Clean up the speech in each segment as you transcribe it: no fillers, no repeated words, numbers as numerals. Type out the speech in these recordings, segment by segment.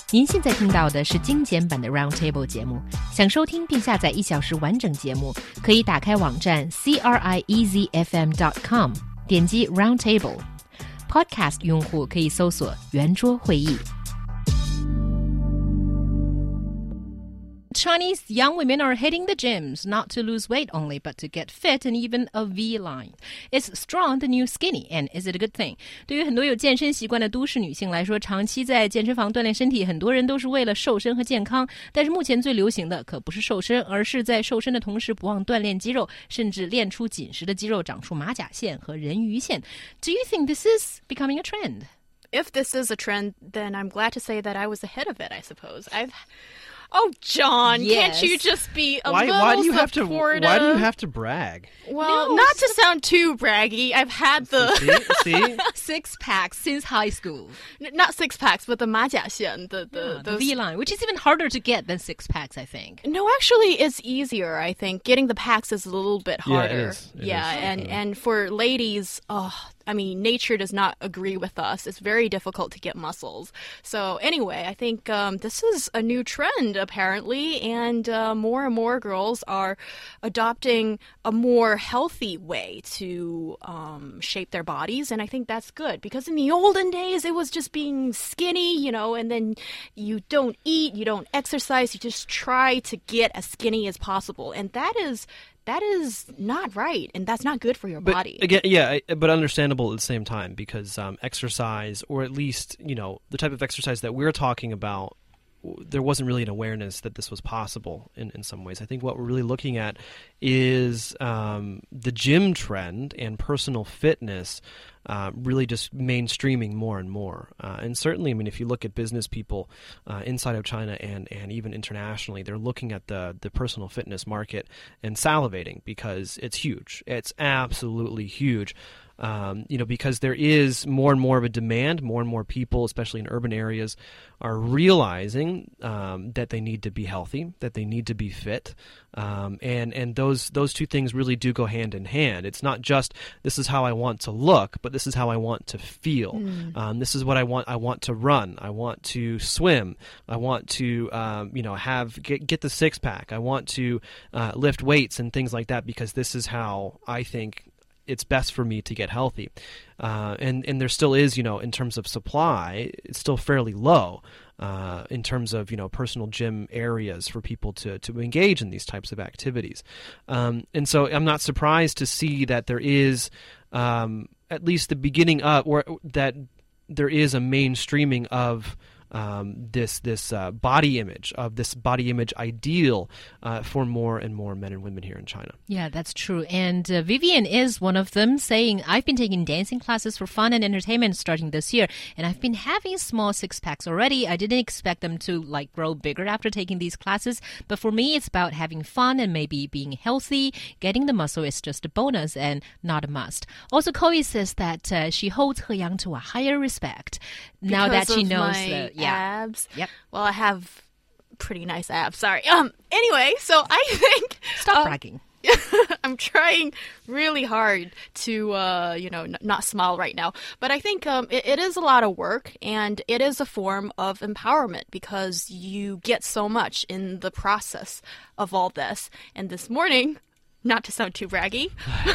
您现在听到的是精简版的 Roundtable 节目。想收听并下载1小时完整节目，可以打开网站 CRIEZFM.com， 点击 Roundtable。Podcast 用户可以搜索圆桌会议。Chinese young women are hitting the gyms not to lose weight only, but to get fit and even a V-line. Is strong the new skinny, and is it a good thing? 对于很多有健身习惯的都市女性来说，长期在健身房锻炼身体，很多人都是为了瘦身和健康。但是目前最流行的可不是瘦身，而是在瘦身的同时不忘锻炼肌肉，甚至练出紧实的肌肉，长出马甲线和人鱼线。Do you think this is becoming a trend? If this is a trend, then I'm glad to say that I was ahead of it, I suppose. Oh, John, yes. Can't you just be a why little do you supportive? Why do you have to brag? Well, not to sound too braggy, I've had the See? Six packs since high school. not six packs, but the 马甲线, the V-line, which is even harder to get than six packs, I think. No, actually, it's easier, I think. Getting the packs is a little bit harder. Yeah, it is. And for ladies, I mean, nature does not agree with us. It's very difficult to get muscles. So anyway, I think this is a new trend, apparently, and more girls are adopting a more healthy way to shape their bodies, and I think that's good. Because in the olden days, it was just being skinny, and then you don't eat, you don't exercise, you just try to get as skinny as possible. And that is not right, and that's not good for your body. Again, but understandable at the same time, because exercise, or at least, the type of exercise that we're talking about, there wasn't really an awareness that this was possible in some ways. I think what we're really looking at is the gym trend and personal fitness really just mainstreaming more and more. And certainly, I mean, if you look at business people inside of China and even internationally, they're looking at the personal fitness market and salivating because it's huge. It's absolutely huge. Because there is more and more of a demand, more and more people, especially in urban areas, are realizing that they need to be healthy, that they need to be fit, and those two things really do go hand in hand. It's not just this is how I want to look, but this is how I want to feel. This is what I want. I want to run. I want to swim. I want to get the six pack. I want to lift weights and things like that because this is how I think it's best for me to get healthy. And there still is, in terms of supply, it's still fairly low in terms of, personal gym areas for people to engage in these types of activities. And so I'm not surprised to see that there is at least the beginning of, or that there is a mainstreaming of this body image, of this body image ideal for more and more men and women here in China. Yeah, that's true. And Vivian is one of them, saying, I've been taking dancing classes for fun and entertainment starting this year, and I've been having small six-packs already. I didn't expect them to grow bigger after taking these classes, but for me, it's about having fun and maybe being healthy. Getting the muscle is just a bonus and not a must. Also, Chloe says that she holds He Yang to a higher respect now that she knows the abs. Yep. Well, I have pretty nice abs. Sorry. Anyway, so I think Stop bragging. I'm trying really hard to not smile right now, but I think it is a lot of work, and it is a form of empowerment because you get so much in the process of all this. And this morning, not to sound too braggy,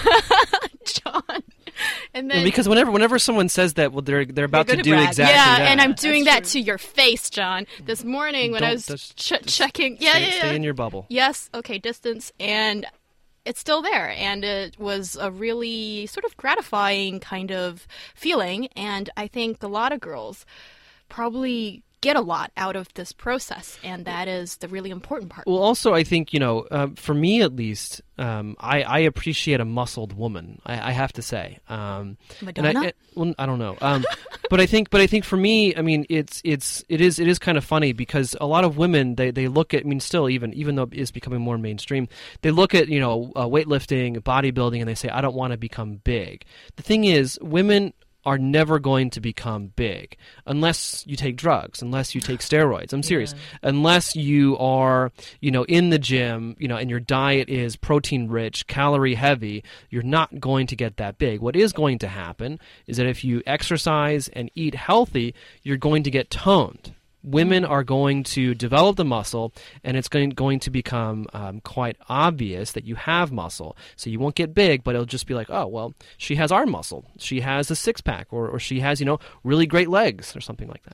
John. And then, because whenever someone says that, well, they're about to do brag. exactly that. Yeah, and I'm doing that to your face, John. This morning when I was checking, stay in your bubble. Yes, okay, distance, and it's still there, and it was a really sort of gratifying kind of feeling, and I think a lot of girls probably get a lot out of this process, and that is the really important part. Well, also, I think, for me at least, I appreciate a muscled woman, I have to say. Madonna? I don't know. But I think for me, I mean, it is kind of funny because a lot of women, they look at, I mean, still, even though it's becoming more mainstream, they look at, weightlifting, bodybuilding, and they say, I don't want to become big. The thing is, women are never going to become big unless you take drugs, unless you take steroids. I'm serious. Yeah. Unless you are, in the gym, and your diet is protein rich, calorie heavy, you're not going to get that big. What is going to happen is that if you exercise and eat healthy, you're going to get toned. women are going to develop the muscle, and it's going to become quite obvious that you have muscle. So you won't get big, but it'll just be like, oh, well, she has arm muscle. She has a six-pack, or she has, really great legs or something like that.